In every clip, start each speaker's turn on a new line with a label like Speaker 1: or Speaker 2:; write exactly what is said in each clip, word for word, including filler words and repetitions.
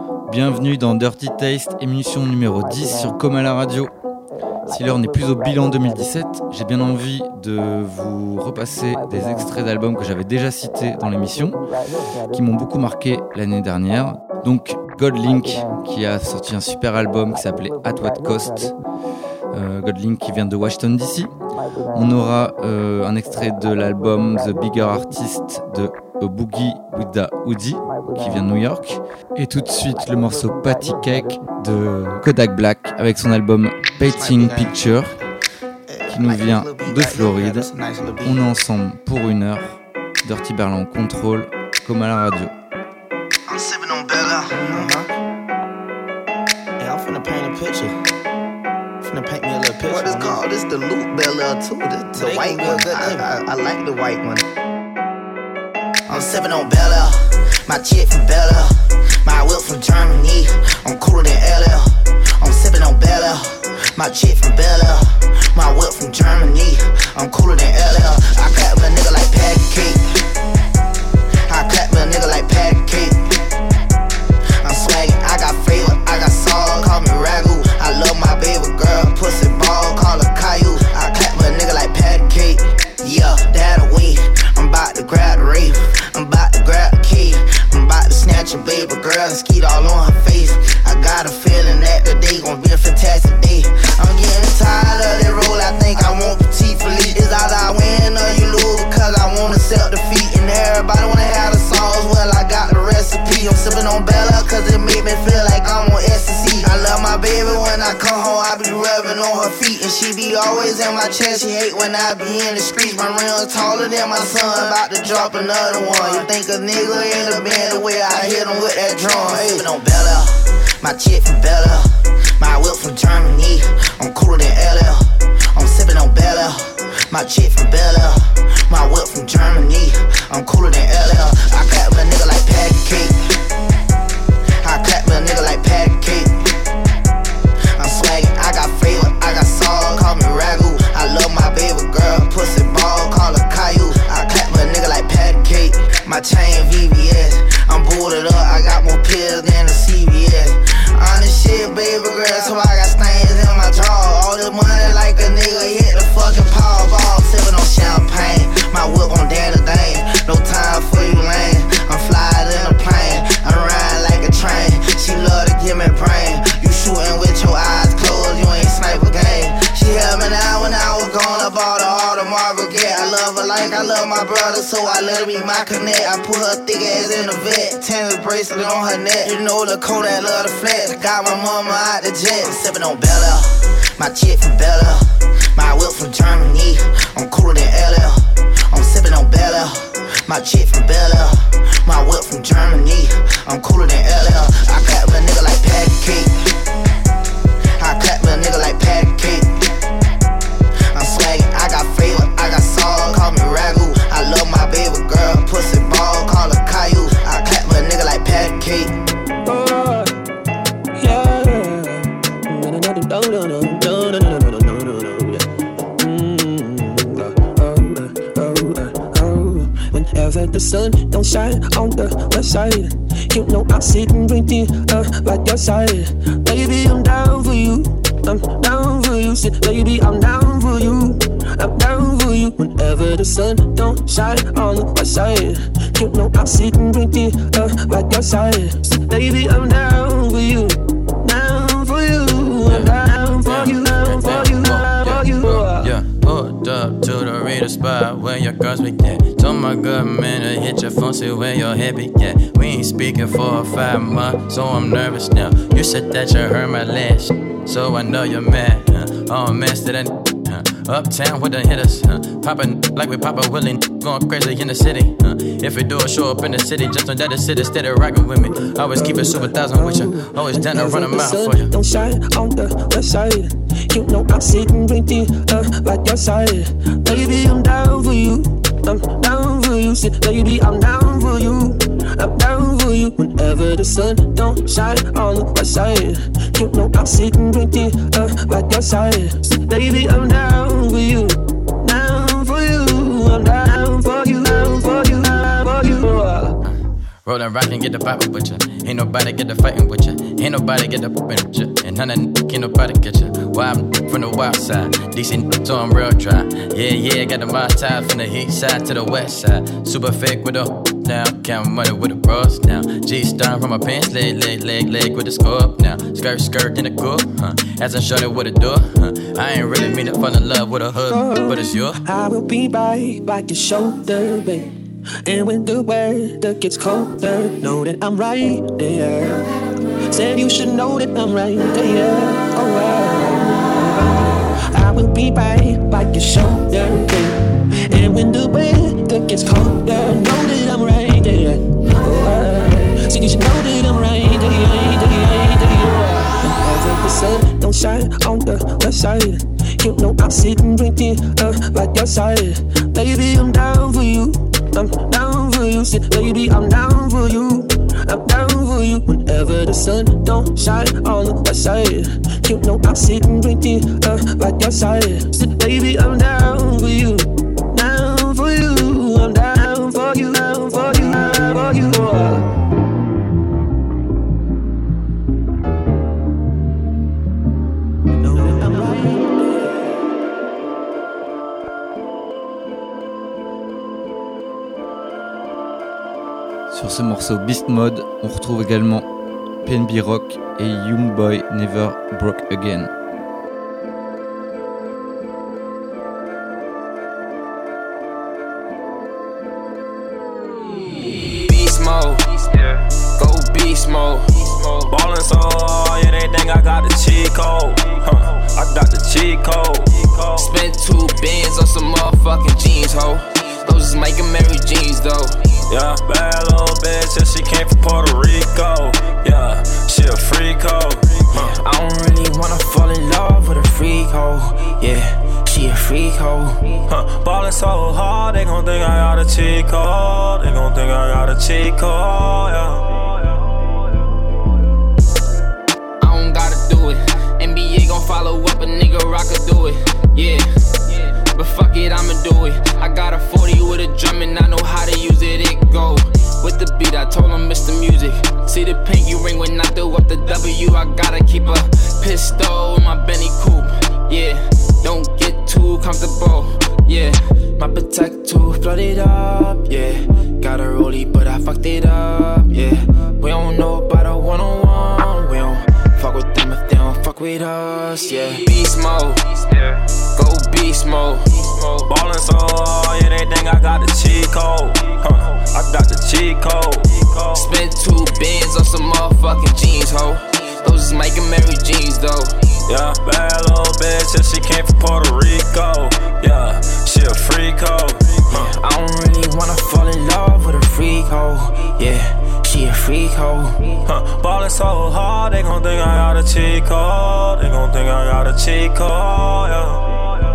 Speaker 1: Bienvenue dans Dirty Taste, émission numéro dix sur Comme à la radio. Si l'heure n'est plus au bilan deux mille dix-sept, j'ai bien envie de vous repasser des extraits d'albums que j'avais déjà cités dans l'émission, qui m'ont beaucoup marqué l'année dernière. Donc Godlink, qui a sorti un super album qui s'appelait At What Cost. Euh, Godlink qui vient de Washington D C. On aura euh, un extrait de l'album The Bigger Artist de A Boogie with the Hoodie qui vient de New York. Et tout de suite le morceau Patty Cake de Kodak Black avec son album Painting Picture qui nous vient de Floride. On est ensemble pour une heure. Dirty Berlin contrôle comme à la radio.
Speaker 2: I'm sipping on Bella. Uh-huh. Yeah, I'm finna paint a picture. Finna paint me a little picture. What is called? This the Loop Bella too. The, the white one. I, I, I like the white one. I'm sipping on Bella. My chick from Bella. My whip from Germany. I'm cooler than L L. I'm sipping on Bella. My chick from Bella. My whip from Germany. I'm cooler than L L. I clap with a nigga like Patty Cake. I clap with a nigga like Patty Cake. I'm swaggin', I got flavor, I got sauce, call me Ragu. I love my baby girl, pussy ball, call her Caillou. I clap with a nigga like Patty Cake. Yeah, that away. I'm about to grab the rave. I'm about to grab the key. I'm about to snatch a baby girl and skeet all on her face. I got a feeling that the day gon' be a fantastic day. I'm getting tired of that roll, I think I want petite Philippe. Is either I win or you lose because I wanna sell defeat. And everybody wanna have the sauce, well I got the recipe. I'm sipping on Bella cause it make me feel like I'm on ecstasy. I love my baby when I come home, I be rubbing on her feet. And she be always in my chest, she hate when I be in the streets. My rims taller than my son, about to drop another one. You think a nigga in the band the way I hit him with that drum. I'm sipping on Bella, my chick from Bella. My whip from Germany, I'm cooler than L L. I'm sipping on Bella, my chick from Bella. My whip from Germany, I'm cooler than L L. I clap with a nigga like Patty Cake. I clap with a nigga like Patty Cake. I'm swaggin', I got flavor, I got sauce, call me Ragu. I love my baby girl, pussy ball, call her Caillou. I clap with a nigga like Patty Cake. My chain V V S, I'm booted up, I got more pills than the C V S. Honest shit, baby girl, so I got stains in my jaw. All this money like a nigga hit the fucking Powerball. Sippin' on champagne, my whip on Danny Dane. No time for you lame, I'm flying in a plane. I'm riding like a train, she love to give me brain. You shootin' with your eyes closed, you ain't sniper game. She held me down when I was gone, I bought her all the Marvel Gate. I love her like I love my brother, so I let her be my connect. I put her thick ass in the vet, tennis bracelet on her neck. You know the Kodak love the flex, got my mama out the jet. I'm sippin' on Bella, my chick from Bella. My whip from Germany, I'm cooler than L L. I'm sippin' on Bella, my chick from Bella. My whip from Germany, I'm cooler than L L. I clap with a nigga like Patty Cake. I clap with a nigga like Patty Cake. I'm swaggin', I got flavor, I got sauce, call me Ragu. I love my baby girl, pussy ball, call her Caillou. I clap with a nigga like Patty Cake.
Speaker 3: Oh, yeah. No, no, no, no, no, no, no, no, no, no, no, no, no. Mm, oh, oh, oh, oh. Whenever the sun don't shine on the west side, you know I sit and drink tea, uh, like your side. Baby, I'm down for you. I'm down for you. Sit, baby, I'm down for you. I'm down for you. Whenever the sun don't shine on the west side, you know I sit and drink tea, uh, like your side. Sit, baby, I'm down for you. Down for you. I'm down for you. Down for you. Down for you.
Speaker 4: Yeah, pulled up to the reader spot where your girls be at. Told my good man to hit your phone, see where your head be at. We ain't speaking for five months, so I'm nervous now. You said that you heard my last, so I know you're mad. Huh? Oh man, still that huh? Uptown with the hitters, huh? Poppin' like we Papa Willie, going crazy in the city. Huh? If we do a show up in the city, just know that the city steady rockin' with me. Always keep it super thousand with you, always down to run a mile for you.
Speaker 3: Don't shine on the west side, you know I sit and drink tea, uh, like your side. Baby, I'm down for you. I'm down for you. Sit, baby, I'm down for you. I'm down for you. Whenever the sun don't shine on the west side, you know I sit and drink tea, uh, like your side. Sit, baby, I'm down for you. Down for you. I'm down for you. Down for you. Down for you.
Speaker 4: Rollin' rock and get the Bible with ya. Ain't nobody get the fighting with ya. Ain't nobody get the poopin' with ya. And none of them can't nobody get ya. Wild from the wild side. Decent, so I'm real dry. Yeah, yeah, got the miles tied from the east side to the west side. Super fake with the down. Count money with the bros now. G starting from my pants, leg, leg, leg, leg with the scope now. Skirt, skirt in the coupe, huh? As I'm showing what it do, huh? I ain't really mean to fall in love with a hood, but it's you.
Speaker 3: I will be right by your shoulder, babe. And when the weather gets colder, know that I'm right there. Said you should know that I'm right there. Oh, I, I will be right by your shoulder, babe. And when the weather gets colder, know that I'm right there. Oh, I, so you should know that I'm right there, there, there. Whenever the sun don't shine on the west side, you know I'm sitting drinking uh, like your side. Baby, I'm down for you. I'm down for you, sit, baby, I'm down for you. I'm down for you. Whenever the sun don't shine on the west side, you know I'm sitting drinking uh, like your side. Sit, baby, I'm down for you. Down for you. I'm down for you. Down for you. Down for you. Know that I'm right.
Speaker 1: Sur ce morceau Beast Mode, on retrouve également P N B Rock et Young Boy Never Broke Again.
Speaker 5: Beast mode, go beast mode. Ballin' so hard, yeah, they think I got the cheat code. Huh, I got the cheat code. Spent two bands on some motherfucking jeans, ho. Those is making Mary jeans, though. Yeah, bad little bitch, and she came from Puerto Rico. Yeah, she a freak hoe. Huh. I don't really wanna fall in love with a freak hoe. Yeah, she a freak hoe. Huh. Ballin' so hard, they gon' think I got a cheat code. They gon' think I got a cheat code. Yeah. I don't gotta do it. N B A gon' follow up, a nigga rock could do it. Yeah. But fuck it, I'ma do it. I got a forty with a drum and I know how to use it, it go. With the beat, I told him it's the music. See the pinky ring when I throw up the W. I gotta keep a pistol in my Benny coupe. Yeah, don't get too comfortable. Yeah, my protector flooded up. Yeah, got a rollie but I fucked it up. Yeah, we don't know about a one-on-one. We don't fuck with them if they don't fuck with us. Yeah, beast mode. Go beast mode. Ballin' so hard, yeah, they think I got the cheat code. Huh, I got the cheat code. Spent two bands on some motherfucking jeans, ho. Those is making Mary jeans, though. Yeah, bad little bitch, and she came from Puerto Rico. Yeah, she a freak hoe. Huh. I don't really wanna fall in love with a freak hoe. Yeah, she a freak hoe. Huh. Ballin' so hard, they gon' think I got a cheat code. They gon' think I got a cheat code, yeah.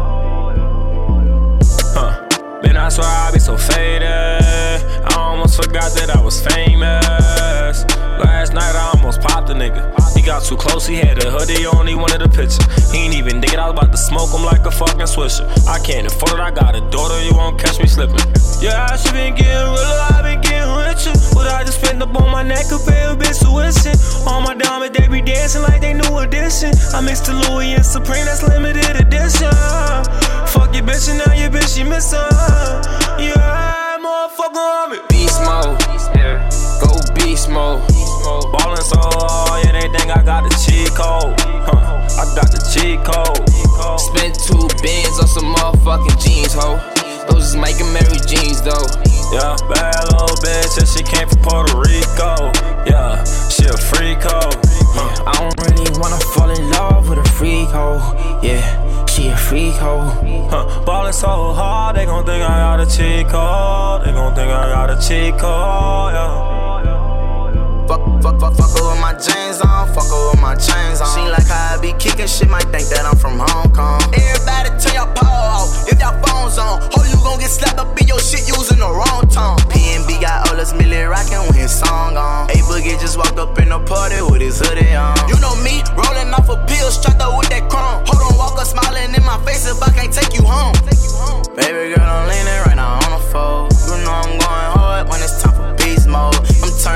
Speaker 5: Man, I swear I be so faded. I almost forgot that I was famous. Last night I almost popped a nigga. He got too close, he had a hoodie on, he wanted a picture. He ain't even dig it, I was about to smoke him like a fucking swisher. I can't afford it, I got a daughter, you won't catch me slipping. Yeah, I should been getting realer, I been getting richer. But I just spent up on my neck, a pair of bitch tuition. All my diamonds, they be dancing like they new edition. I mixed the Louis and Supreme, that's limited edition. Fuck your bitch and now your bitch, she missing. Yeah, motherfucker on me. Beast mode, go beast mode. Ballin' so hard, yeah, they think I got the cheat code. Huh, I got the cheat code. Spent two bands on some motherfucking jeans, ho. Those is making Mary jeans, though. Yeah, bad little bitch, and she came from Puerto Rico. Yeah, she a freak hoe. Huh. I don't really wanna fall in love with a freak hoe. Yeah, she a freak hoe. Huh. Ballin' so hard, they gon' think I got a cheat code. They gon' think I got a cheat code, yeah.
Speaker 2: Fuck, fuck, fuck, fuck her with my jeans on, fuck her with my chains on. She like how I be kicking shit, might think that I'm from Hong Kong. Everybody turn your power off, if your phone's on. Ho, you gon' get slapped up in your shit using the wrong tone. P N B got all us Millie rockin' with his song on. A Boogie just walked up in the party with his hoodie on. You know me, rollin' off a pill, strapped up with that chrome. Hold on, walk up smiling in my face if I can't take you home. Baby girl, I'm leaning right now on the phone. You know I'm going hard when it's time for beast mode. I'm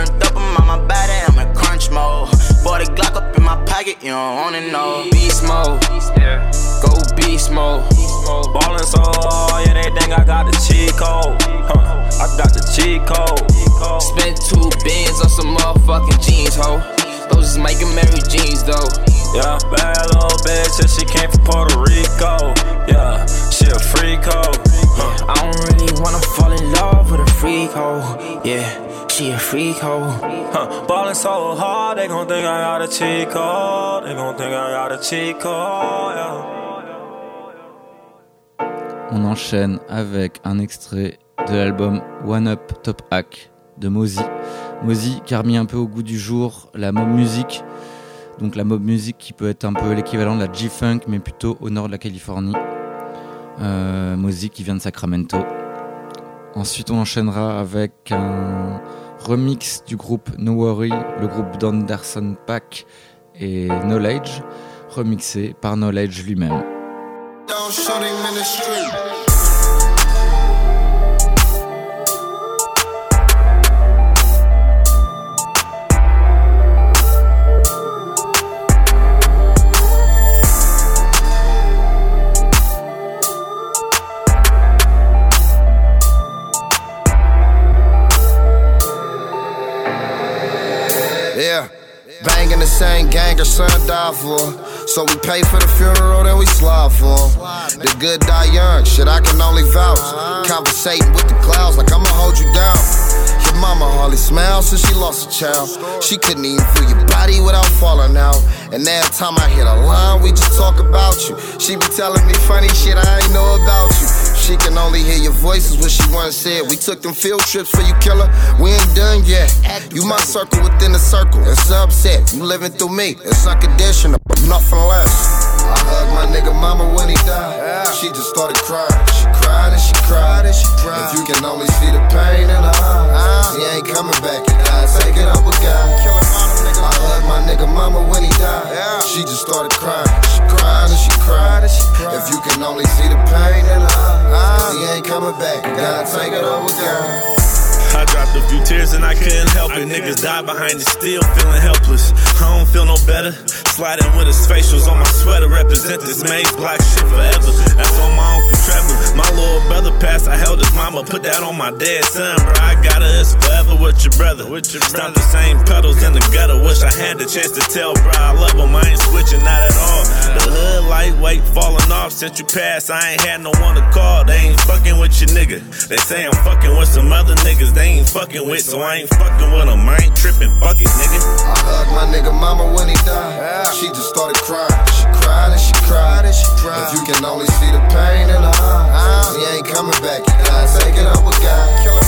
Speaker 6: like it, you don't wanna know. Beast mode, go beast mode.
Speaker 5: Ballin' so hard, yeah, they think I got the cheat code. Huh, I got the cheat code.
Speaker 6: Spent two bands on some motherfucking jeans, ho. Those is Mike and Mary jeans, though.
Speaker 5: Yeah, bad little bitch, and she came from Puerto Rico. Yeah, she a freak hoe. Huh.
Speaker 6: I don't really wanna fall in love with a freak hoe. Yeah, she a freak hoe.
Speaker 5: Huh. Ballin' so hard, they gon' think I got a cheat code. They gon' think I got a cheat code, yeah.
Speaker 1: On enchaîne avec un extrait de l'album One Up Top Hack de Mozzy. Mozzy qui a remis un peu au goût du jour la mob music, donc la mob music qui peut être un peu l'équivalent de la G-Funk mais plutôt au nord de la Californie. Euh, Mozzy qui vient de Sacramento. Ensuite on enchaînera avec un remix du groupe No Worry, le groupe d'Anderson .Paak et Knowledge, remixé par Knowledge lui-même.
Speaker 2: Don't shoot him in the street. Yeah, banging the same gang her son died for. So we pay for the funeral, then we slide for him. The good die young, shit I can only vouch. Conversating with the clouds like I'ma hold you down. Your mama hardly smiles since she lost a child. She couldn't even feel your body without falling out. And every time I hit a line, we just talk about you. She be telling me funny shit I ain't know about you. She can only hear your voices, what she once said. We took them field trips for you, killer. We ain't done yet. You my circle within the circle. It's upset. You living through me. It's unconditional. Nothing less. I hugged my nigga mama when he died. She just started crying. She cried and she cried and she cried. If you can only see the pain in her eyes, he ain't coming back. He died. Take it up with God. I hugged my nigga mama when he died. She just started crying. She cried and she cried and she cried. If you can only see the pain in her eyes, he ain't coming back. God, take it up with God.
Speaker 7: I dropped a few tears and I couldn't help it. Niggas died behind it, still feeling helpless. I don't feel no better. Sliding with his facials on my sweater, represent this maze block shit forever. That's on my Uncle Trevor. My little brother passed, I held his mama, put that on my dead son, bro. I got her, it's forever with your brother. With your Stop the same pedals in the gutter. Wish I had the chance to tell, bro, I love him. I ain't switching, not at all. The hood lightweight falling off since you passed. I ain't had no one to call. They ain't fucking with your nigga. They say I'm fucking with some other niggas. They ain't fucking with, so I ain't fucking with them. I ain't tripping, fuck it, nigga.
Speaker 2: I hugged my nigga mama when he died. She just started crying. She cried and she cried and she cried. If you can only see the pain in her eyes, he ain't coming back. He died. Take it up with God.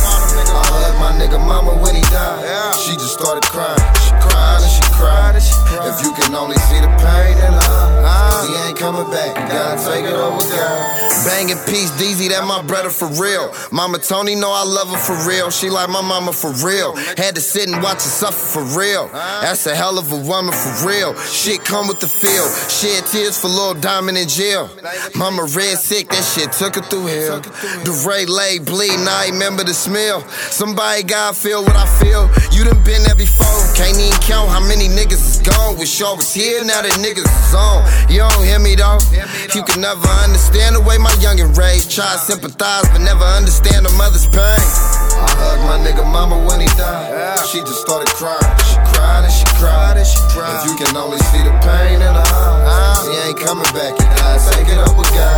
Speaker 2: I hugged my nigga mama when he died. She just started crying. She cried and she cried and she cried. If you can only see the pain in her eyes, he ain't coming back. God, take it up with God. Banging Peace Deezy, that my brother for real. Mama Tony know I love her for real. She like my mama for real. Had to sit and watch her suffer for real. That's a hell of a woman for real. Shit come with the feel. Shed tears for Lil Diamond in jail. Mama red sick, that shit took her through hell. The Ray lay bleeding, I remember the smell. Somebody gotta feel what I feel. You done been there before. Can't even count how many niggas is gone. Wish y'all was here, now that niggas is on. You don't hear me though. You can never understand the way my youngin' raised. Try to sympathize, but never understand a mother's pain. I hugged my nigga mama when he died. She just started crying. She cried and she cried and she cried. If you can only see the pain in her eyes, he ain't coming back. He died. Take it up with God.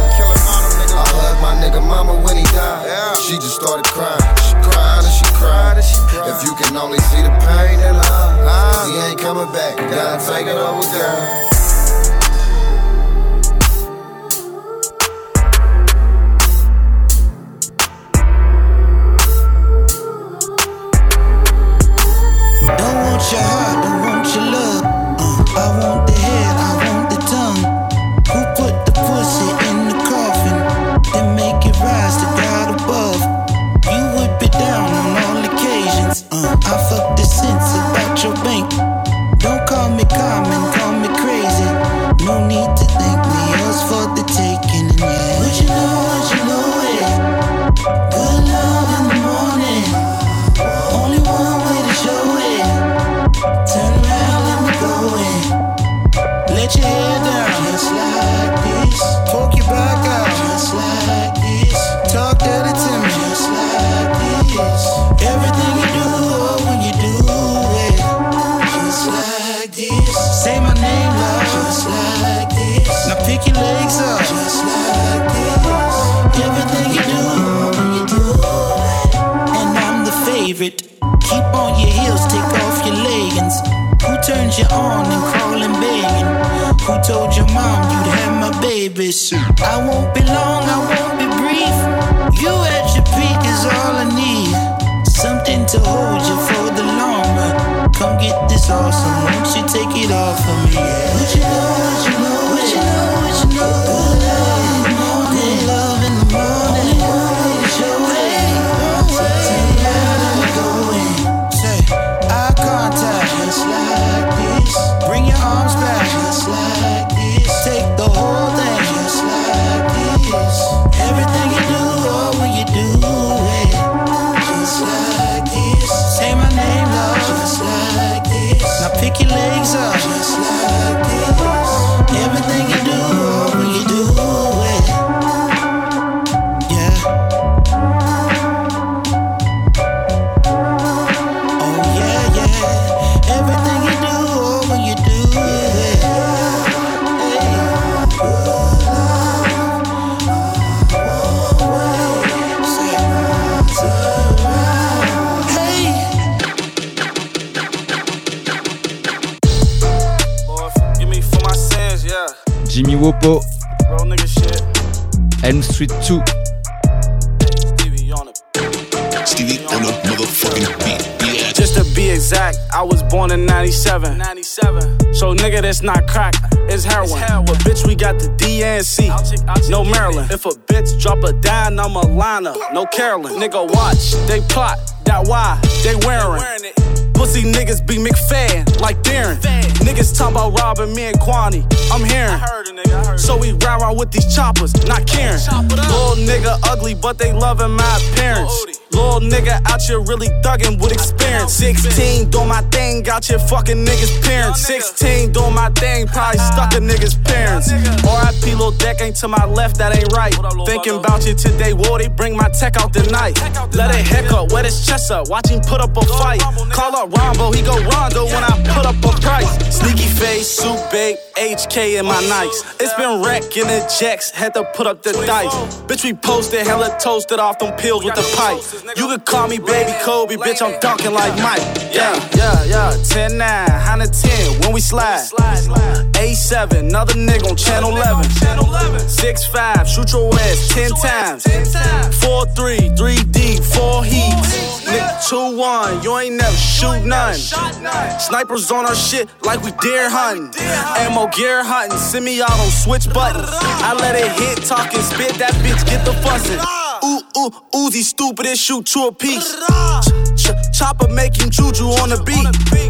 Speaker 2: I hugged my nigga mama when he died. She just started crying. She cried and she cried and she cried. If you can only see the pain in her eyes, he ain't coming back. God, take it up with God.
Speaker 8: Don't want your heart, don't want your love. Uh, I want the head, I want the tongue. Who put the pussy in the coffin? Then make it rise to God above. You would be down on all occasions. Uh, I fuck the sense about your bank. Don't call me common, call me crazy. Say my name loud, just like this. Now pick your legs up, just like this. Everything you do, you do it. And I'm the favorite. Keep on your heels, take off your leggings. Who turned you on and crawling begging? Who told your mom you'd have my babies? I won't be long, I won't be brief. You at your peak is all I need. Something to hold you for the long run. Come get this awesome, won't you take it off of me? What you know, what you know, what you know, what you know. Good love in the morning, good love in the morning. It's your way, so tell me how we going. Say, eye contact, just like this. Bring your arms back, just like this. Take the whole thing, just like this. Everything you do, oh, when you do it, just like this. Say my name, love, just like this. Now pick your legs up, just like this. Everything you do, oh, when you do it, yeah. Oh yeah, yeah. Everything you do, oh, when you do it, hey.
Speaker 1: Jimmy Wopo, Elm Street two.
Speaker 7: Stevie on a motherfucking beat. Yeah.
Speaker 9: Just to be exact, I was born in ninety-seven. ninety-seven. So nigga, that's not crack, it's heroin. It's heroin. But bitch, we got the D N C. I'll check, I'll check no Maryland. If a bitch drop a dime, I'm a liner. No Carolyn. Nigga, watch, they plot. That why they wearing. wearing Pussy niggas be McFadden, like Darren. Niggas talking about robbing me and Kwani. I'm hearing. I heard a nigga, I heard so we ride around with these choppers, not caring. Little nigga ugly, but they loving my appearance. Little nigga out here really thuggin' with experience. Sixteen doing my thing, got your fucking niggas' parents. Sixteen doing my thing, probably stuck a nigga's parents. R I P Lil Deck ain't to my left, that ain't right. Thinking about you today, whoa, they bring my tech out tonight. Let it heck up, wet his chest up, watch him put up a fight. Call up Rombo, he go Rondo when I put up a price. Sneaky face, suit babe, H K in my nights. It's been wrecking the jacks, had to put up the dice. Bitch, we posted, hella toasted off them pills with the pipe. You could call me Baby Kobe, bitch, I'm dunking like Mike. Yeah, yeah, yeah, ten nine, one hundred ten when we slide. A seven, another nigga on channel eleven. six five, shoot your ass ten times. four three, three deep, four heats. Nigga two one, you ain't never shoot none. Snipers on our shit like we deer hunting. Ammo gear hunting, send me out on switch buttons. I let it hit, talk and spit, that bitch get the fussing. Ooh, ooh, Uzi stupid and shoot two a piece. Ch- ch- chopper making juju on the beat.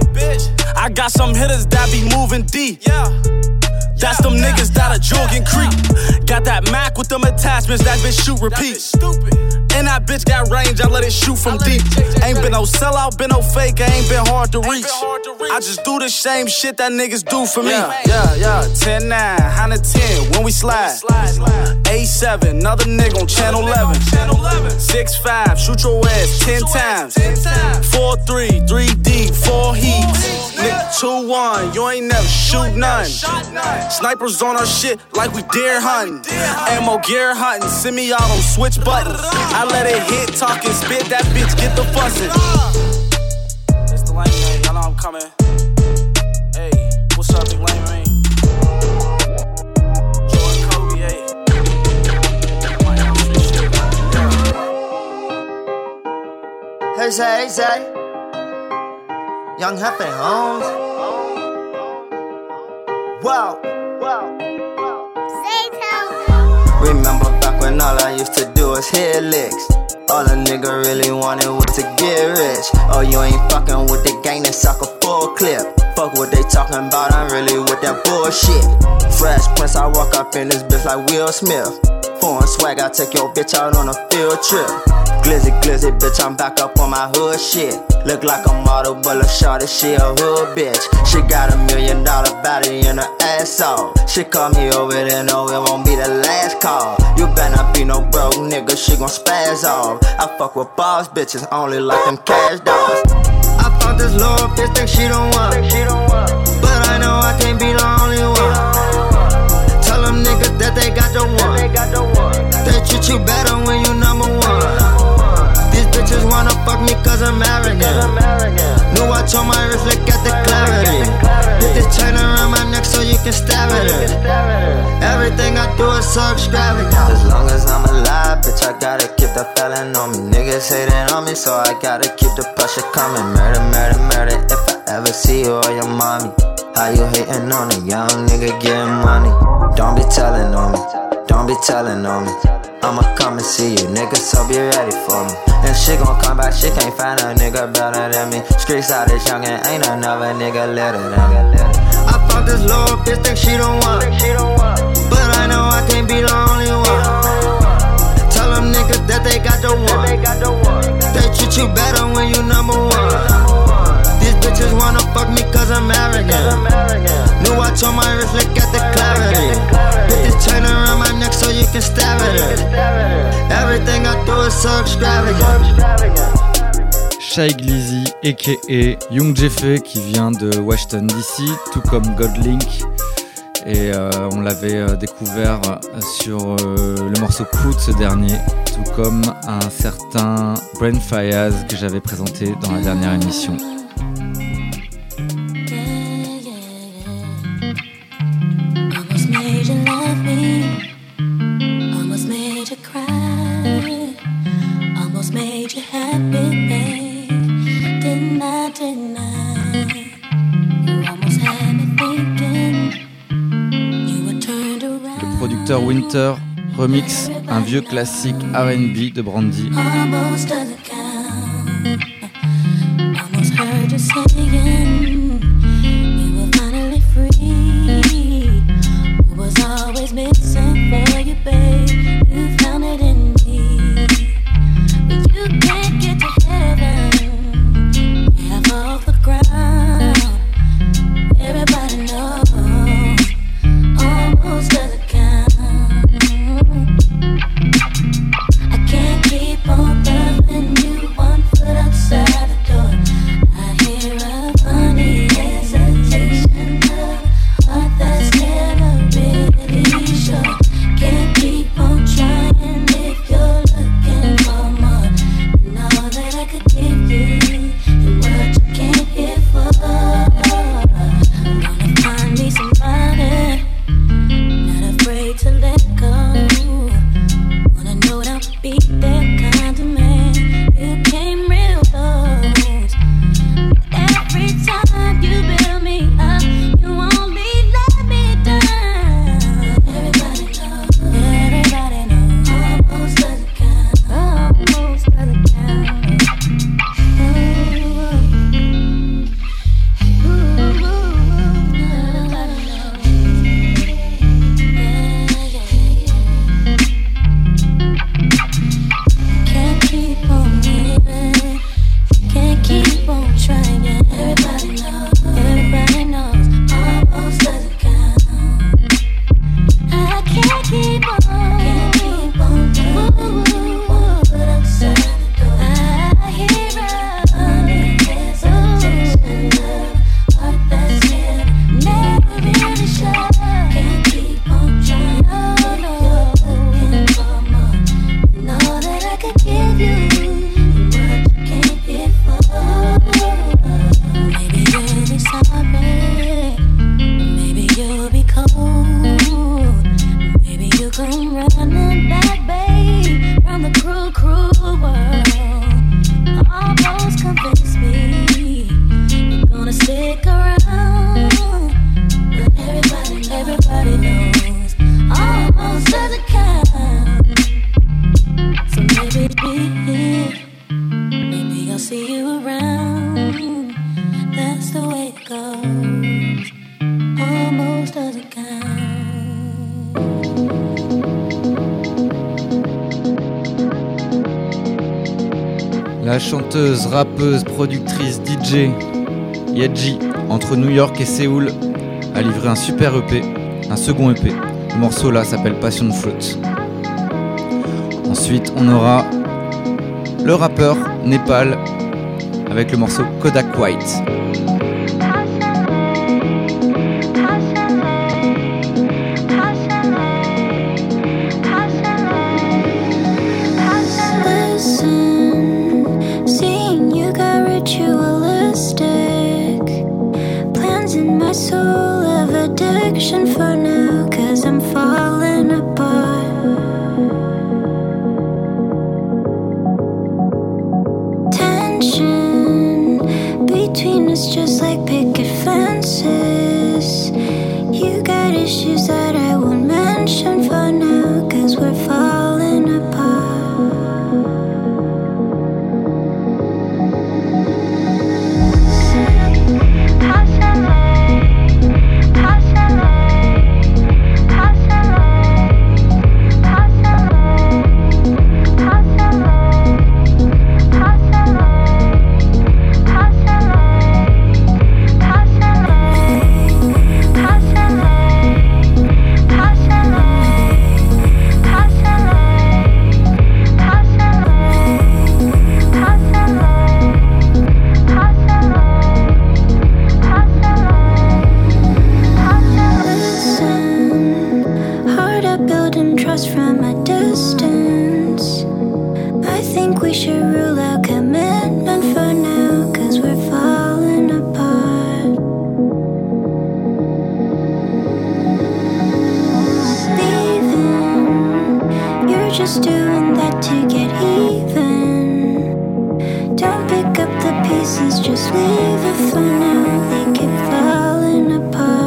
Speaker 9: I got some hitters that be moving deep. That's them niggas that a jog and creep. Got that Mac with them attachments, that bitch shoot repeat. And that bitch got range, I let it shoot from deep. Ain't been no sellout, been no fake, I ain't been hard to reach. I just do the same shit that niggas do for me. Yeah, yeah, yeah. ten nine, one hundred ten when we slide. A seven, another nigga on channel eleven. six five, shoot your ass ten times. four three, three deep, four heats. Nigga two one, you ain't never shoot none. Snipers on our shit like we deer hunting. Ammo gear hunting, send me out on switch buttons. I let it hit, talk and spit, that bitch get the fussing. It's the lame man, y'all know I'm coming. Hey, what's up, big lame man? Jordan Kobe, hey.
Speaker 2: Hey, say, hey, say. Young Happy Homes. Wow, wow, wow. Remember back when all I used to do was hit licks. All a nigga really wanted was to get rich. Oh, you ain't fucking with the gang that suck a full clip. Fuck what they talking about, I'm really with that bullshit. Fresh Prince, I walk up in this bitch like Will Smith. Foreign swag, I take your bitch out on a field trip. Glizzy, glizzy, bitch, I'm back up on my hood shit. Look like a model, but look shorty, she a hood bitch. She got a million dollar body in her ass off. She call me over there, no, it won't be the last call. You better not be no broke nigga, she gon' spaz off. I fuck with boss bitches, only like them cash dogs. I found this little bitch, think she don't want, but I know I can't
Speaker 8: so extravagant. As long as I'm alive, bitch, I gotta keep the felon on me. Niggas hating on me, so I gotta keep the pressure coming. Murder, murder, murder, if I ever see you or your mommy. How you hating on a young nigga getting money? Don't be telling on me, don't be telling on me. I'ma come and see you, nigga, so be ready for me. And she gon' come back, she can't find a nigga better than me. Streets out this young and ain't another nigga litter than me. I fuck this little bitch, think she don't want, but I know I can't be the only one. Tell them niggas that they got the one. They treat you better when you number one. These bitches wanna fuck me cause I'm arrogant. New watch on my wrist, look at the clarity. Put this chain around my neck so you can stare at it. Everything I do is so extravagant.
Speaker 1: Shy Glizzy, aka Young Jeffé, qui vient de Washington D C, tout comme Godlink. Et euh, on l'avait euh, découvert sur euh, le morceau Crew de ce dernier, tout comme un certain Brain Fayaz que j'avais présenté dans la dernière émission. Le producteur Winter remix un vieux classique R and B de Brandy. La chanteuse, rappeuse, productrice, D J Yedji, entre New York et Séoul, a livré un super E P, un second E P. Le morceau là s'appelle Passion Fruit. Ensuite, on aura le rappeur Népal avec le morceau Kodak White.
Speaker 10: For now, cause I'm falling apart. issues that I won't mention for now, cause we're falling apart. From a distance, I think we should rule out commitment for now, cause we're falling apart. Leaving, you're just doing that to get even. Don't pick up the pieces, just leave it for now. They keep falling apart.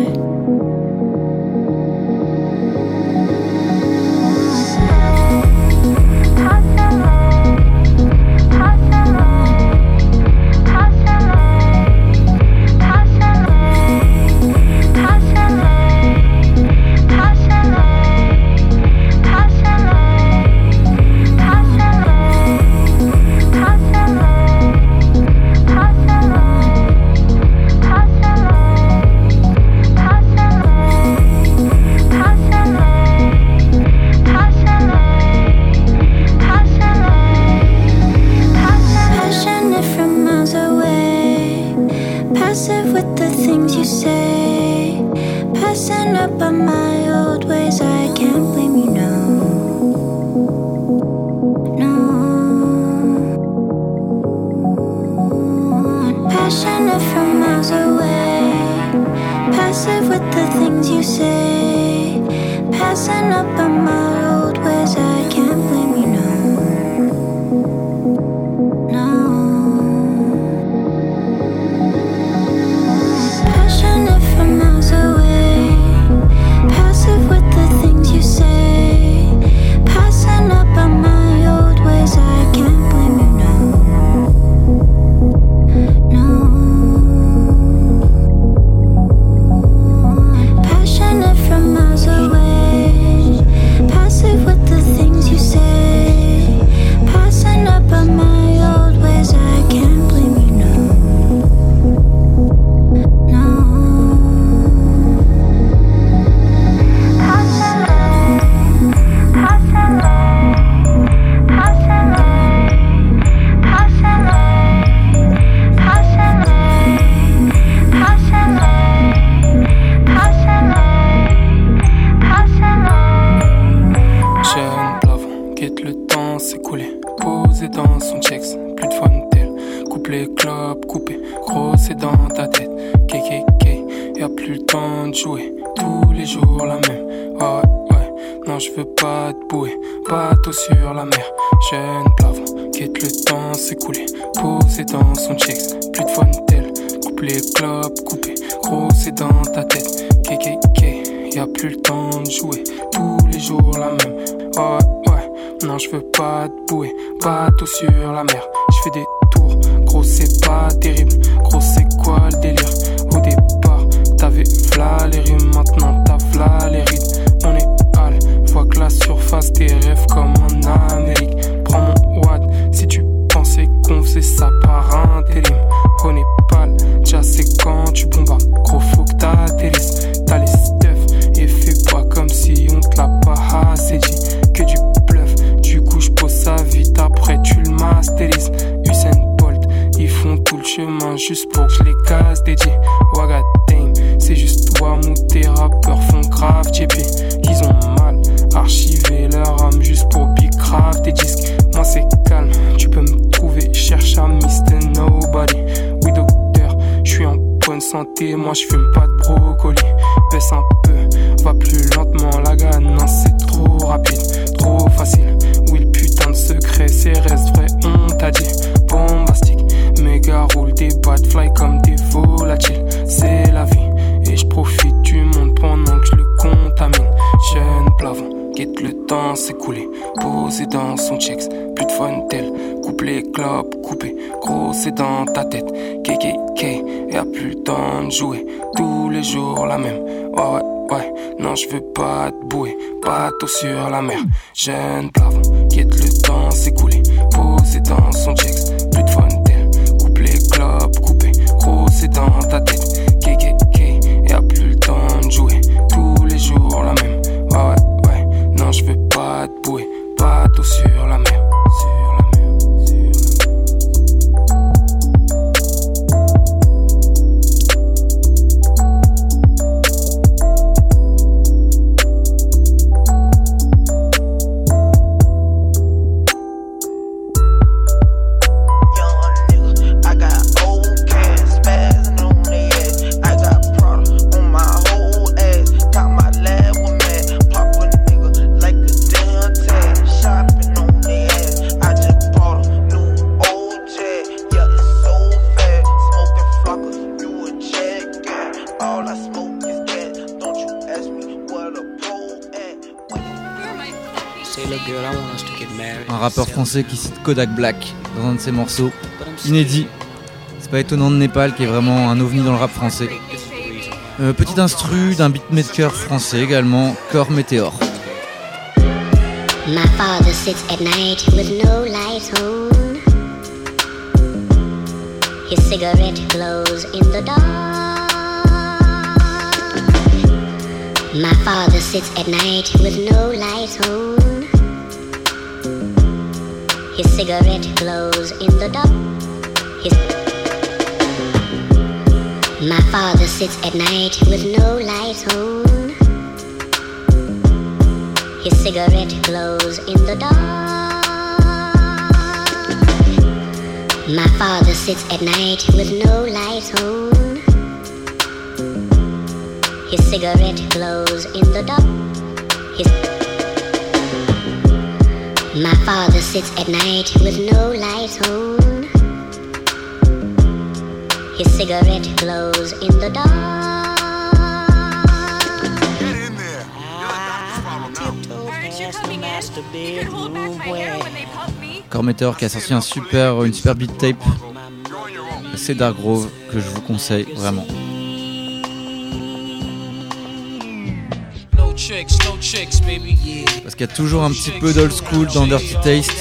Speaker 11: Sur la mer, jeune plafond, quitte le temps s'écouler, posé dans son checks, plus de fun tel, coupe les clubs, coupé, gros c'est dans ta tête, K K K, y'a plus le temps de jouer, tous les jours la même, ouais ouais, non je veux pas te bouer, bateau sur la mer, je fais des tours, gros c'est pas terrible, gros c'est quoi le délire, au départ t'avais v'là les rimes, maintenant t'as v'là les rides, on est hal, vois que la surface tes rêves comme en Amérique. Prends mon watt si tu pensais qu'on faisait ça par intérim. On est pâle, déjà c'est quand tu bombardes. Gros faut que t'atterrisses, t'as les stuff et fais pas comme si on te l'a pas assez dit. Que du bluff, du coup j'pose ça vite après tu le masterises. Usain Bolt, ils font tout le chemin juste pour que je les casse dédié. Waga dame, c'est juste toi où tes rappeurs font grave J P. Qu'ils ont mal archiver leur âme juste pour bicraft tes disques. Moi c'est calme, tu peux me trouver, cherche à mister nobody. Oui docteur, je suis en bonne santé, moi je fume pas de brocoli. Baisse un peu, va plus lentement, la ganace c'est trop rapide, trop facile. Oui le putain de secret, c'est reste vrai, on t'a dit. Bombastique, méga roule des bad fly comme des volatiles. C'est la vie, et je profite du monde pendant que je temps s'écouler, posé dans son checks, plus de fun tel, couplet, clope, coupé, gros c'est dans ta tête, K K K, y'a plus le temps de jouer, tous les jours la même, ouais ouais ouais, non je veux pas te bouer, bateau sur la mer, jeune plafond, quitte le temps s'écouler, posé dans son checks, plus de fun tel, couplet, clope, coupé, gros c'est dans ta tête, K K K, y'a plus le temps de jouer, tous les jours la même, ouais ouais ouais, non je veux pas te bouer, bateau sur la mer, sur la mer, sur la mer.
Speaker 1: Un rappeur français qui cite Kodak Black dans un de ses morceaux, inédit. C'est pas étonnant de Népal, qui est vraiment un ovni dans le rap français. Euh, petit instru d'un beatmaker français également, Corps Météor.
Speaker 12: My father sits at night with no lights on. His cigarette glows in the dark. My father sits at night with no lights on. His cigarette glows in the dark. His My father sits at night with no lights on. His cigarette glows in the dark. My father sits at night with no lights on. His cigarette glows in the dark. His My father sits at night with no lights on. His cigarette glows in the dark.
Speaker 8: Get in there. I tiptoe past the master bedroom where
Speaker 1: Corps Météor qui a sorti un super, une super beat tape, c'est Dark Grove, que je vous conseille vraiment. Parce qu'il y a toujours un petit peu d'old school dans Dirty Taste.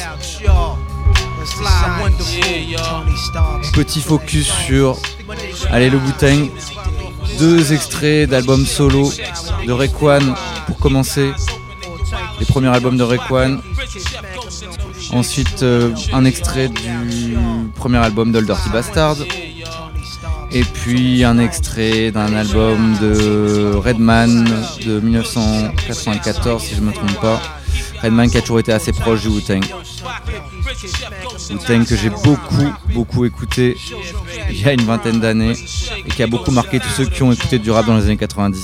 Speaker 1: Petit focus sur, allez, le Wu-Tang. Deux extraits d'albums solo de Raekwon pour commencer. Les premiers albums de Raekwon. Ensuite, euh, un extrait du premier album d'Old Dirty Bastard. Et puis un extrait d'un album de Redman de dix-neuf cent quatre-vingt-quatorze, si je ne me trompe pas. Redman qui a toujours été assez proche du Wu-Tang. Wu-Tang que j'ai beaucoup, beaucoup écouté il y a une vingtaine d'années et qui a beaucoup marqué tous ceux qui ont écouté du rap dans les années quatre-vingt-dix.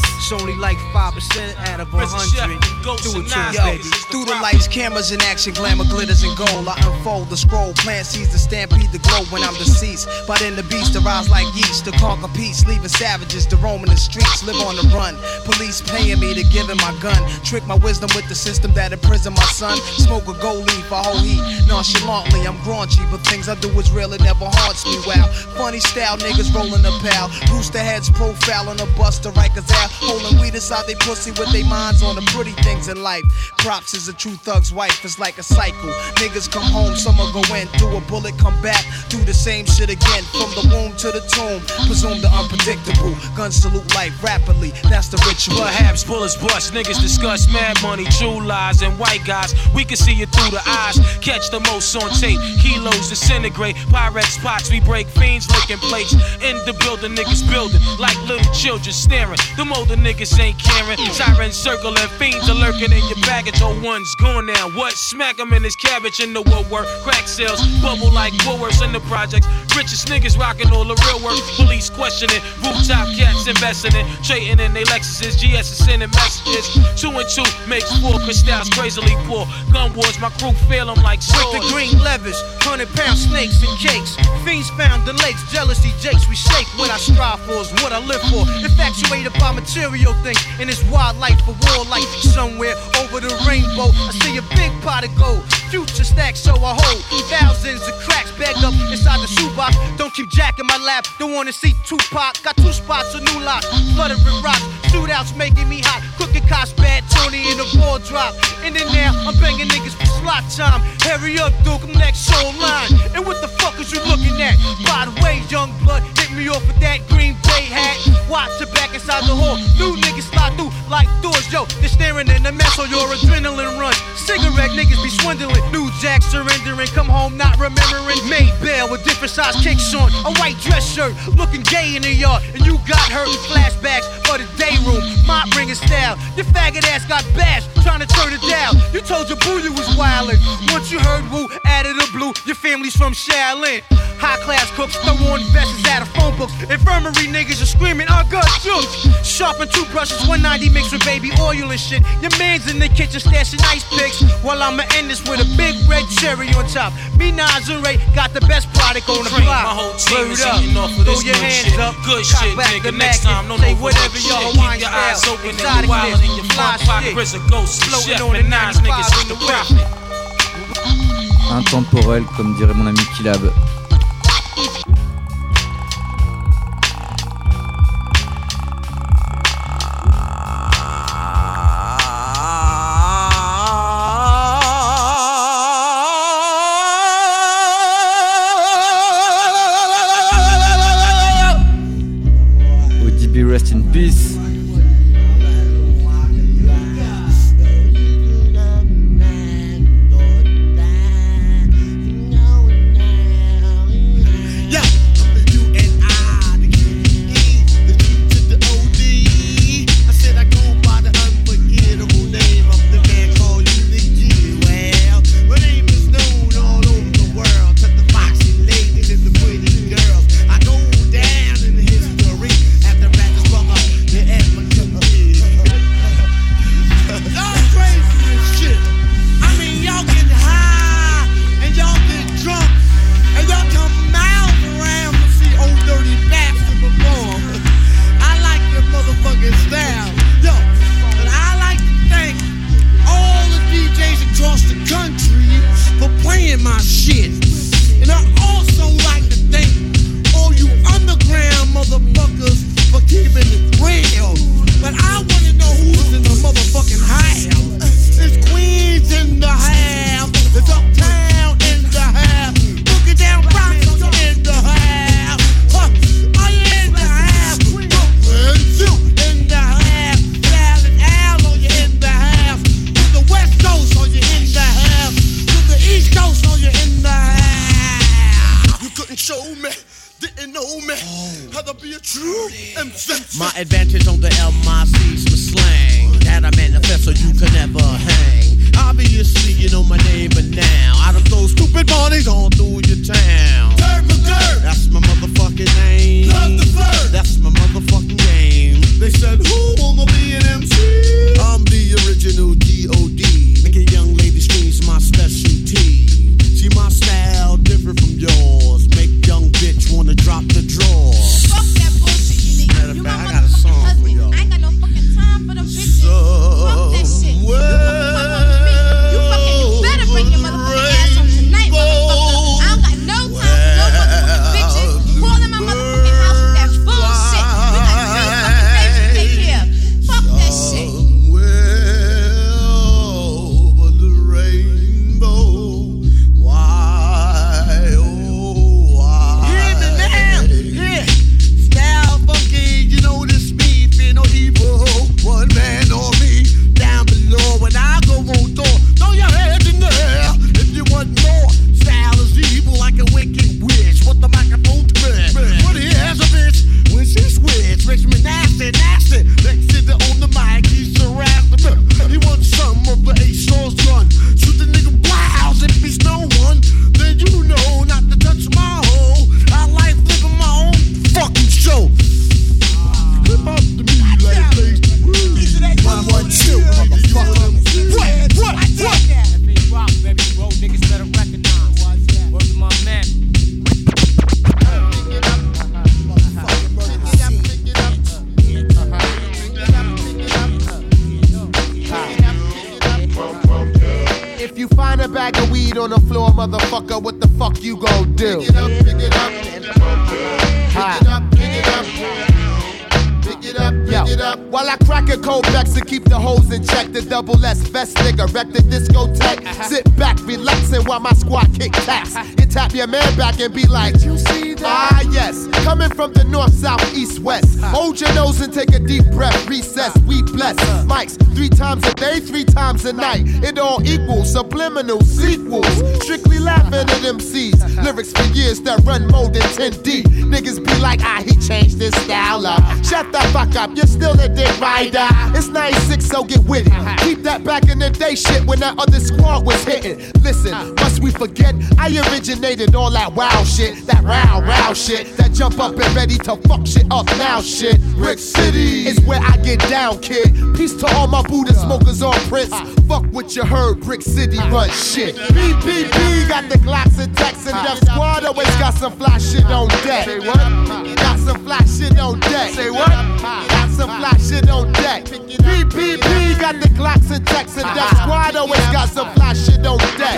Speaker 13: Through the lights, cameras in action, glamour glitters and gold. I unfold the scroll, plant seeds to stampede the glow when I'm deceased. But in the beast, arise like yeast to conquer peace, leaving savages to roam in the streets, live on the run. Police paying me to give him my gun, trick my wisdom with the system that imprisoned my son. Smoke a gold leaf, a whole heat, nonchalantly. I'm graunchy, but things I do is real, it never haunts me. Wow, funny style, niggas rolling a pal. Rooster heads profiling a buster, Rikers out, holding weed inside they pussy with their minds on the pretty things in life. Props is a true thug's wife, it's like a cycle. Niggas come home, summer go in, through a bullet, come back, do the same shit again. From the womb to the tomb, presume the unpredictable. Guns salute life rapidly, that's the ritual.
Speaker 5: Perhaps bullets bust, niggas discuss mad money, true lies, and white guys. We can see it through the eyes, catch the most on tape. Kilos disintegrate, Pyrex pots, we break fiends, licking plates. In the building, niggas building, like little children staring. Them older niggas ain't caring. Sirens circling, fiends are lurking in your baggage. Oh, one's gone now. What? Smack him in his cabbage in the woodwork. Crack sales, bubble like Woolworths in the projects. Richest niggas rocking all the real work. Police questioning, rooftop cats investing in. Trading in they Lexuses, G S is sending messages. Two and two makes four, crystals crazily poor. Gun wars, my crew feel them like swords.
Speaker 13: With the green levers, hundred pound snakes and cakes. Fiends found the lakes, jealousy jakes. We shake what I strive for is what I live for. Infatuated by material things. think in this wildlife for war life. Somewhere over the rainbow, I see a big pot of gold. Future stacks, so I hold thousands of cracks bagged up inside the shoebox. Don't keep Jack in my lap, don't wanna see Tupac. Got two spots, a new lot, flooded with rocks. Shootouts making me hot, cooking cops bad, Tony in the ball drop. And then now, I'm banging niggas for slot time. Hurry up, Duke, I'm next show line. And what the fuck is you looking at? By the way, young blood, hit me off with that Green Bay hat. Watch your back inside the hall, new niggas slide through like doors. Yo, they're staring in the mess on your adrenaline runs. Cigarette niggas be swindling, new jack surrendering. Come home not remembering. Made bail with different size kicks on, a white dress shirt, looking gay in the yard. And you got hurt, flashbacks for the day room, mop ringing style. Your faggot ass got bashed, trying to turn it down. You told your boo you was wildin'. Once you heard woo, out of the blue, your family's from Shaolin. High class cooks, throw on vests out of phone books. Infirmary niggas are screaming, I got jokes. Sharpen toothbrushes, one ninety mixed with baby oil and shit. Your man's in the kitchen stashing ice picks, while I'ma end this with a big red cherry on top. Me, Nas, and Ray got the best product on the block.
Speaker 14: My whole team is eating off of
Speaker 13: throw
Speaker 14: this
Speaker 13: your
Speaker 14: good
Speaker 13: hands
Speaker 14: shit.
Speaker 13: up,
Speaker 14: Good
Speaker 13: cock
Speaker 14: shit,
Speaker 13: back
Speaker 14: nigga.
Speaker 13: the
Speaker 14: Next
Speaker 13: Mac
Speaker 14: time, don't
Speaker 13: say
Speaker 14: overlook
Speaker 13: whatever
Speaker 14: shit.
Speaker 13: your
Speaker 14: Keep
Speaker 13: Hawaiian
Speaker 14: your eyes
Speaker 13: style.
Speaker 14: open and
Speaker 13: Exotic
Speaker 14: you wildin' in your
Speaker 13: fly
Speaker 14: front
Speaker 13: shit.
Speaker 14: pocket. Chris a ghost,
Speaker 13: Floating
Speaker 14: chef,
Speaker 13: on the
Speaker 14: and Nas niggas is the prophet.
Speaker 1: Intemporel, comme dirait mon ami Kilab. O D B rest in peace.
Speaker 15: a bag of weed on the floor, motherfucker, what the fuck you gon' do? Pick it up, pick it up, pick it up, pick it up. Pick it up, pick it up. While I crack a cold Bex to keep the hoes in check, the double S vest nigga wreck the discotheque. Uh-huh. Sit back, relaxing while my squad kick taps. You tap your man back and be like, you see that? Ah yes, coming from the north, south, east, west. Uh-huh. Hold your nose and take a deep breath. Recess, we bless. Uh-huh. Mics three times a day, three times a night. It all equals subliminal sequels. Strictly laughing at M Cs. Uh-huh. Lyrics for years that run more than ten deep. Niggas be like, ah, he changed his style up. Shut the fuck up, you're still a dick rider. It's ninety-six, so get with it. Keep that back in the day shit when that other squad was hitting. Listen, must we forget? I originated all that wild shit, that row, row shit, that jump up and ready to fuck shit up now shit. Brick City is where I get down, kid. Peace to all my Buddha smokers on Prince. Fuck what you heard, Brick City run shit. B P P got the Glocks and Tex and Def Squad always got some fly shit on deck. Say what? Got some fly shit on deck. Say what? Got some fly shit on deck. B P P got the Glocks and Tex and Def Squad always got some fly shit on deck.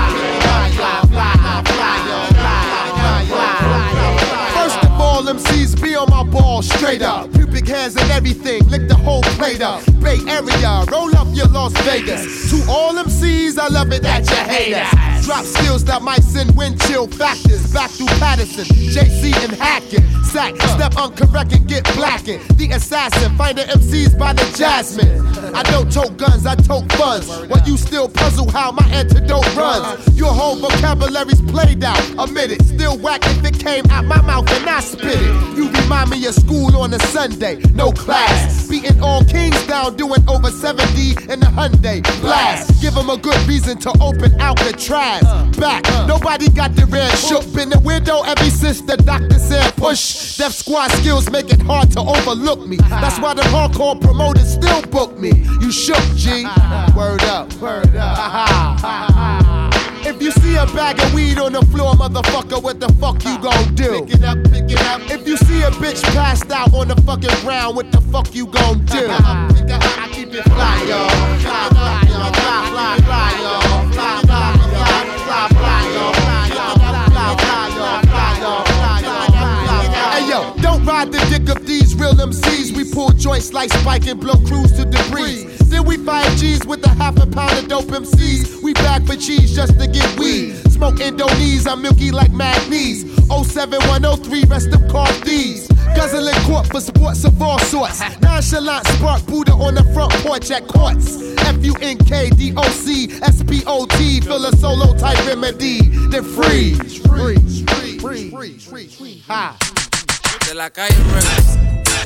Speaker 15: First of all, M Cs be on my ball straight up. Pubic hairs and everything, lick the whole plate up. Bay Area, roll up your Las Vegas. To all M Cs, I love it that you hate us. Drop skills that might send wind chill factors back through Patterson, J C and Hackett. Sack, step uncorrect and get blackened. The assassin, find the M Cs by the Jasmine. I don't tote guns, I tote funds. While you still puzzle how my antidote runs. Your whole vocabulary's played out, admit it. Still whack if it came out my mouth and I spit it. You remind me of school on a Sunday, no class. Beating all kings down, doing over seventy in the Hyundai blast. Give them a good reason to open out the trash. Back, nobody got the red shook. Been the window ever since the doctor said push. Def Squad skills make it hard to overlook me. That's why the hardcore promoters still book me. You shook, G. Word up, word up. If you see a bag of weed on the floor, motherfucker, what the fuck you gon' do? Pick it up, pick it up. If you see a bitch passed out on the fucking ground, what the fuck you gon' do? I keep it fly, y'all. Fly, fly, y'all. Fly, fly, fly, y'all. Fly, fly, fly, fly, fly, y'all. Fly, y'all. Fly, fly, y'all. Fly, y'all. Fly, y'all. Hey yo, don't ride the dick of these real M Cs. We pull joints like Spike and blow crews to debris. Then we five G's with a half a pound of dope M Cs. We back for cheese just to get weed. Smoke Indonese, I'm milky like Magnes. oh seven one oh three, rest of car thieves. Guzzling court for sports of all sorts. Nonchalant spark Buddha on the front porch at courts. F U N K D O C S P O T, feel a solo type remedy. Then freeze, freeze, freeze, freeze, freeze, freeze, freeze. Ha.
Speaker 16: De la calle Records.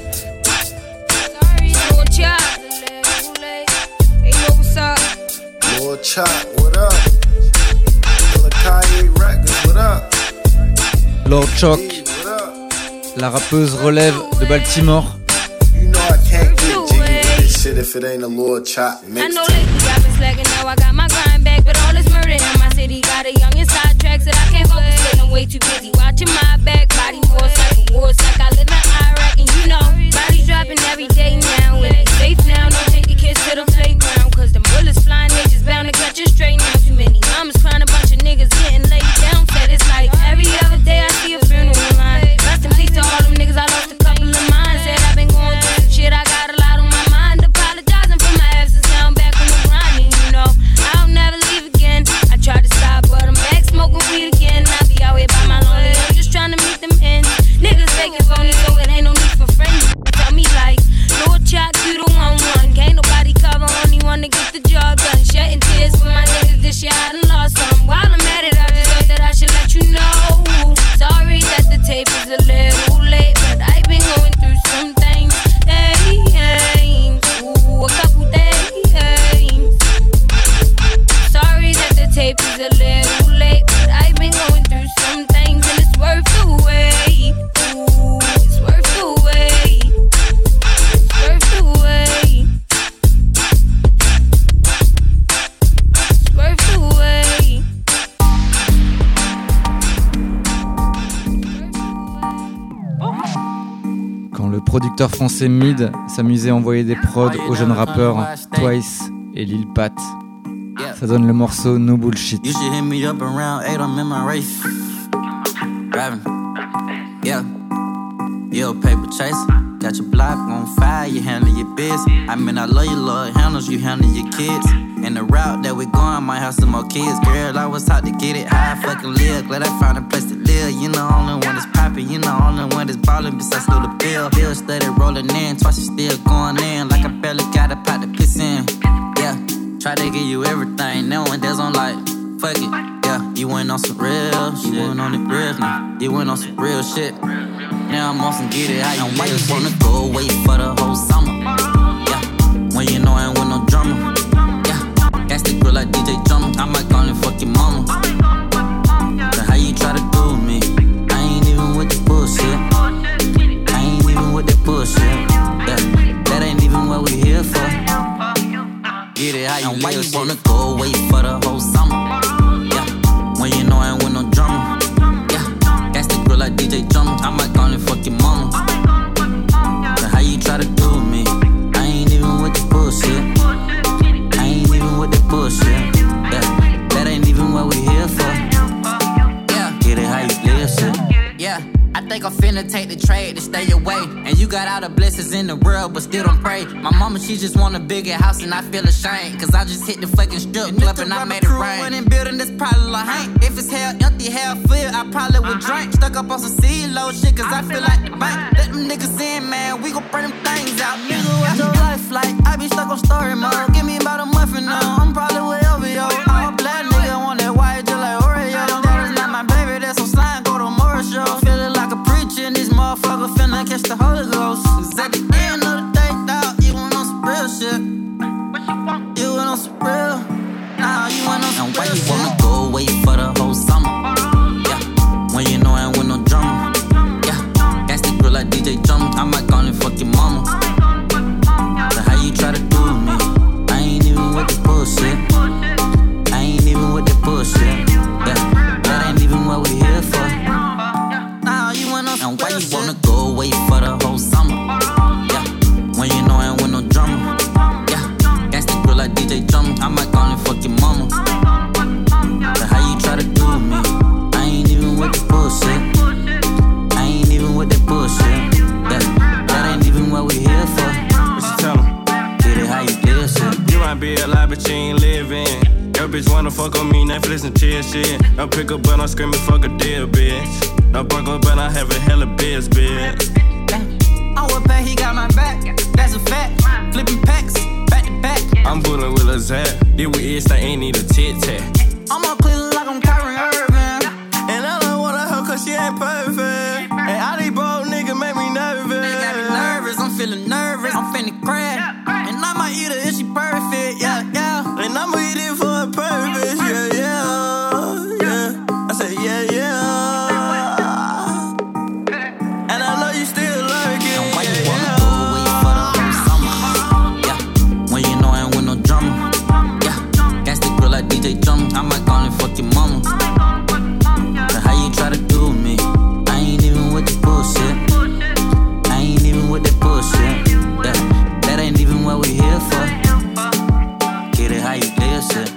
Speaker 17: Lil Chop, hey yo, what's up?
Speaker 18: Lil Chop, what up? De la calle Records, what up?
Speaker 1: Lord Choc, la rappeuse relève de Baltimore.
Speaker 18: You know I can't get jiggy with this shit if it ain't a Lil Chop mix.
Speaker 17: I know lately I've been slacking, now I got my grind back, but all this murder in my city got a young inside tracks that I can't focus with. I'm way too busy watching my back, body wars like a wars like I live in Iraq, and you know bodies dropping every day now. And it's safe now, don't take your kids to the playground, cause the bullets flying, they just bound to catch you straight now. Too many mamas crying, a bunch of niggas getting laid down. Said it's like every other day I see a funeral line. Rest in peace to all them niggas, I lost a couple of mine. Said I've been going through some shit, I got a lot on my mind. Apologizing for my absence, now I'm back on the grind. And you know, I'll never leave again. I tried to stop, but I'm back smoking weed again. I be out here by my lonely, I'm just trying to meet them ends. Niggas faking phony, so it ain't no need for friends. Tell me like, Lord Chop, you the one one. Can't nobody cover, only one to get the job done. Shedding tears for my niggas this year, I done lost some. While I'm at it, I just thought that I should let you know. Sorry that the tape is a little late, but I've been going through some things. Hey, hey, ooh, a couple days. Sorry that the tape is a little late, but I've been going through some things, and it's worth the wait. Ooh, it's worth the wait. It's worth the wait. It's worth the wait.
Speaker 1: Quand le producteur français Mid s'amusait à envoyer des prods aux jeunes rappeurs Twice et Lil Pat, Ça donne le morceau No Bullshit.
Speaker 19: You should hit me up around eight, I'm in my race. Driving, yeah. You a paper chaser. Got your block on fire, you handle your biz. I mean, I love you, Lord handles, you handle your kids. And the route that we going might have some more kids. Girl, I was taught to get it high, fucking live. Glad I found a place to live. You know, only one that's poppin', you know, only one that's ballin'. Besides, still the bill. Bill steady rollin' in, twice you still going in. Like I barely got a pot to piss in. Yeah, try to give you everything, knowing there's on like, fuck it. Yeah, you went on some real shit. You went on the real now. You went on some real shit. Now I'm on some get it how you and why you wanna go away for the whole summer? Yeah, when you know I ain't with no drama. Yeah, gas the grill like D J Drummer. I might call and fuck your mama. So how you try to do me? I ain't even with the bullshit. I ain't even with that bullshit. Yeah, that ain't even what we here for. Get it how you and why you wanna go away for the whole summer? Yeah, when you know I ain't with no drama. Like D J Drummer, I might call and fuck your mama. So how you try to do me? I ain't even with the bullshit. I ain't even with the bullshit. Yeah, that ain't even what we here for. Yeah, get it how you live shit. Yeah, I think I'm finna take the trade to stay away. And you got all the blessings in the world, but still don't pray. My mama, she just want a bigger house and I feel ashamed. Cause I just hit the fucking strip club and I made it rain. In building this probably like Hank. If it's hell empty, hell filled, I probably would drink. Stuck up on some C-Lo shit cause I feel like the bank. Let them niggas in, man, we gon' bring them things out. Nigga, what's your life like? I be stuck on story mode. Give me about a month and now I'm probably way over, yo. All black nigga want that white just like Oreo. That is not my baby, that's some slime, go to Morris show. Feeling like a preacher and this motherfucker finna catch the Holy Ghost. Cause at the end of the day, dog, you went on some real shit. You went on some real. Nah, you went on some and real shit. And why you wanna go away for the whole summer? Yeah, when you know I ain't with no drama. Yeah, gas the grill like D J Drummer. I might call and fuck your mama. So how you try to do me? I ain't even with the bullshit. I ain't even with the bullshit. Yeah, that ain't even what we here for. And why you wanna go away for the whole summer? Yeah, when you know I ain't with no drama. Yeah, gas the grill like D J Drummer. I might call and fuck your mama. So how you try to do me? I ain't even with the bullshit. I ain't even with that bullshit. Yeah, that ain't even what we here for.
Speaker 5: What you tell 'em?
Speaker 19: Get it how you live shit.
Speaker 5: You might be alive but you ain't living. Your bitch wanna fuck on me, Netflix and chill shit. I pick up but I'm screaming fuck a deal, bitch. I bark up but I have a hella biz, bitch.
Speaker 19: I would pay, he got my back, that's a fact. Flipping packs, back to back.
Speaker 5: I'm bullin' with a Zap. Did we itch, I ain't need a tit tat.
Speaker 19: I'm on Cleveland like I'm Kyrie Irving. And I don't want her cause she ain't perfect. And all these broke niggas make me nervous. They got me nervous, I'm feeling nervous. I'm finna crash. And I might eat her if she perfect, yeah, yeah. And I'ma eat it for a purpose, yeah, yeah, yeah. I said, yeah, yeah. I might call and fuck your mama. So how you try to do me? I ain't even with the bullshit. I ain't even with that bullshit. Yeah, that ain't even what we here for. Get it how you live shit.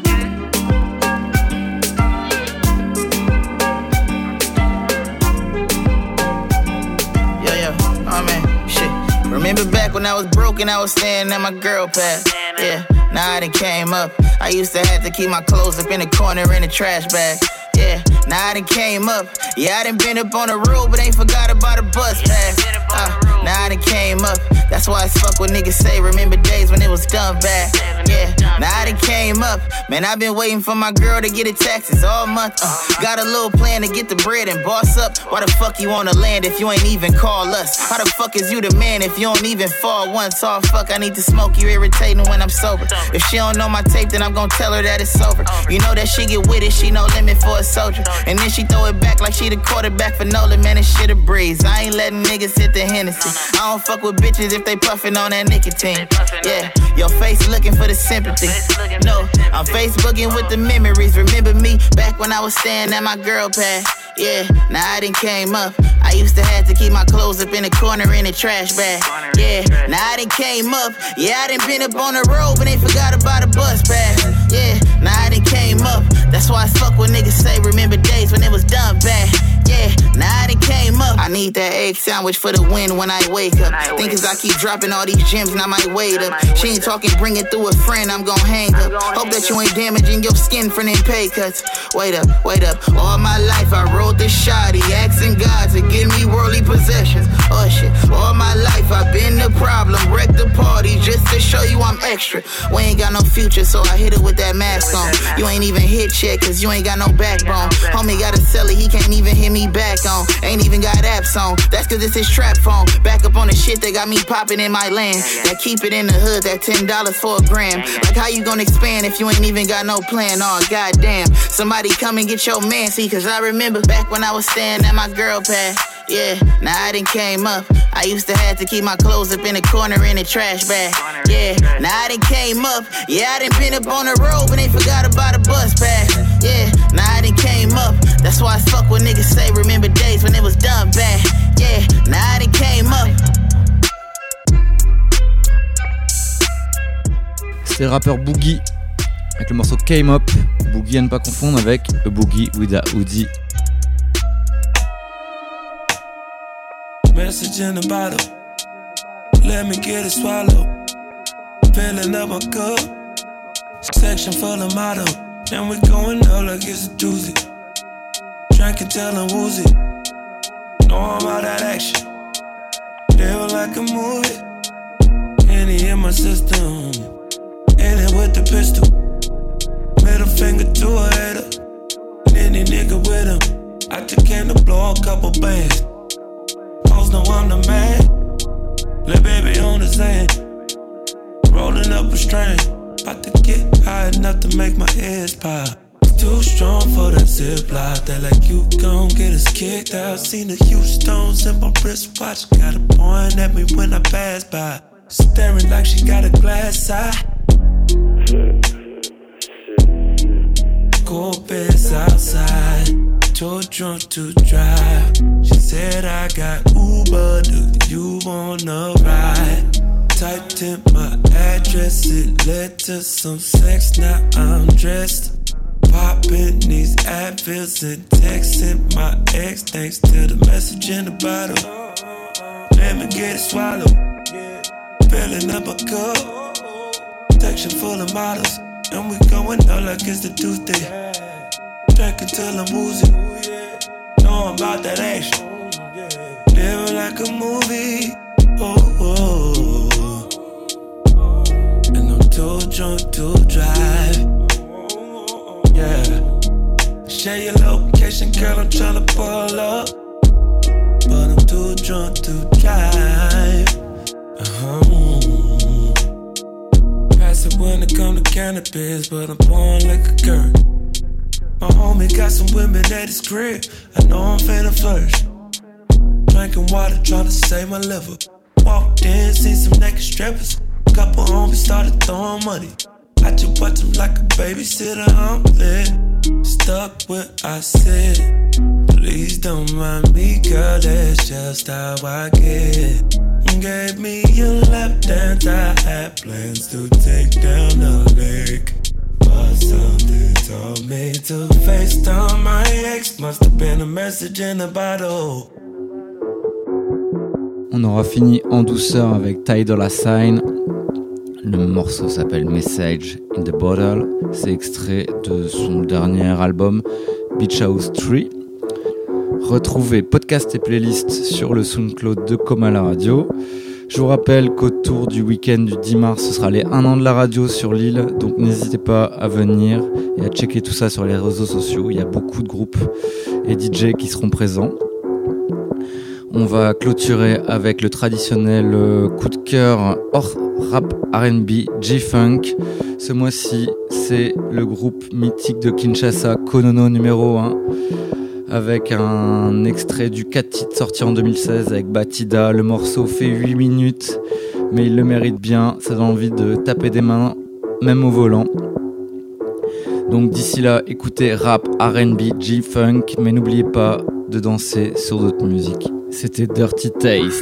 Speaker 2: Yeah, yeah, oh man, shit. Remember back when I was broke and I was staying at my girl pad. Yeah, now I done came up. I used to have to keep my clothes up in the corner in the trash bag. Yeah, now I done came up. Yeah, I done been up on the road, but ain't forgot about a bus pass. Uh, now I done came up. That's why I fuck what niggas say. Remember days when it was done bad. Yeah, now I done came up. Man, I been waiting for my girl to get her taxes all month. Uh, got a little plan to get the bread and boss up. Why the fuck you wanna land if you ain't even call us? How the fuck is you the man if you don't even fall once? Oh fuck, I need to smoke you irritating when I'm sober. If she don't know my tape, then I'm gon' tell her that it's over. You know that she get with it, she no limit for a soldier. And then she throw it back like she the quarterback for Nolan. Man, this shit a breeze. I ain't letting niggas hit the Hennessy. I don't fuck with bitches if they puffin' on that nicotine. Yeah, your face looking for the sympathy. No, I'm Facebooking with the memories. Remember me back when I was staying at my girl pad. Yeah, now I done came up. I used to have to keep my clothes up in the corner in the trash bag. Yeah, now I done came up. Yeah, I done been up on the road, but ain't forgot about a bus pass. Yeah, now I done came up. That's why I fuck when niggas say remember days when it was done bad. Yeah, now I done came up. I need that egg sandwich for the win when I wake up. Think cause I keep dropping all these gems and I might wait up. She ain't talking, bring it through a friend, I'm gon' hang up. Hope that you ain't damaging your skin from them pay cuts. Wait up, wait up. All my life I rode this shoddy, asking God to give me worldly possessions. Oh shit, all my life I've been the problem. Wreck the party just to show you I'm extra. We ain't got no future, so I hit it with that mask on. You ain't even hit yet, cause you ain't got no backbone. Homie got a celly, he can't even hit me back on. Ain't even got apps on, that's cause it's his trap phone. Back up on the shit that got me popping in my land. That keep it in the hood, that ten dollars for a gram. Like how you gonna expand if you ain't even got no plan? Oh goddamn, somebody come and get your man, see, cause I remember back when I was staying at my girl pad. Yeah, now I done came up. I used to have to keep my clothes up in the corner in the trash bag. Yeah, now I done came up. Yeah, I done been up on the road, but ain't forgot about a bus pass. Yeah, now I done came up. That's why I fuck when niggas say remember days when it was done bad. Yeah, now I done came up.
Speaker 1: C'est le rappeur Boogie avec le morceau Came Up. Boogie à ne pas confondre avec A Boogie with a Hoodie.
Speaker 20: Message in the bottle, let me get it swallowed. Filling up my cup, section full of motto. And we going out like it's a doozy. Drinking till I'm woozy. Know I'm about that action. Live like a movie. Any in my system. In it with the pistol. Middle finger to a hater. Any nigga with him. I just came to blow a couple bands. Hoes know I'm the man. Lil' baby on the sand. Rolling up a strain. About to get high enough to make my ears pop. Too strong for that zip lock. They like you gon' get us kicked out. Seen the huge stones in my wristwatch. Got a point at me when I pass by. Staring like she got a glass eye. Cold beds outside. Too drunk to drive. She said I got Uber. Do you wanna ride? Typed in my address. It led to some sex. Now I'm dressed. Popping these Advils and texting my ex. Thanks to the message in the bottle. Let me get it swallowed. Filling up a cup. Section full of models. And we going out like it's the Tuesday. Drinking till I'm woozy. Know I'm about that action. Living like a movie. Oh, oh, oh. And I'm too drunk to drive. Yeah. Share your location, girl, I'm tryna pull up. But I'm too drunk to drive. Uh-huh. Pass it when it come to cannabis, but I'm pouring like a girl. My homie got some women at his crib. I know I'm finna flourish. Drinking water, tryna save my liver. Walked in, seen some naked strippers. Couple homies started throwing money. I just watch them like a babysitter, I'm lit. Stuck what I said. Please don't mind me, girl, that's just how I get. Gave me your left hand, I had plans to take down the lake. But something told me to FaceTime my ex. Must have been a message in the bottle.
Speaker 1: On aura fini en douceur avec Ty Dolla Sign. Le morceau s'appelle Message in the Bottle. C'est extrait de son dernier album Beach House trois. Retrouvez podcast et playlist sur le SoundCloud de Comme à la radio. Je vous rappelle qu'autour du week-end du dix mars, ce sera les un an de la radio sur l'île. Donc n'hésitez pas à venir et à checker tout ça sur les réseaux sociaux. Il y a beaucoup de groupes et D J qui seront présents. On va clôturer avec le traditionnel coup de cœur hors rap R and B G-Funk. Ce mois-ci, c'est le groupe mythique de Kinshasa, Konono numéro un, avec un extrait du quatre titres sorti en deux mille seize avec Batida. Le morceau fait huit minutes, mais il le mérite bien. Ça donne envie de taper des mains, même au volant. Donc d'ici là, écoutez rap, R and B, G-Funk, mais n'oubliez pas de danser sur d'autres musiques. C'était Dirty Taste.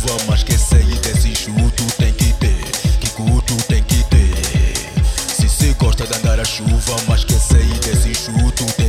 Speaker 21: chuva, mas quem sair desse enxuto tem que ter. Que culto tem que ter. Se cê gosta de andar a chuva, mas quem sair desse enxuto tem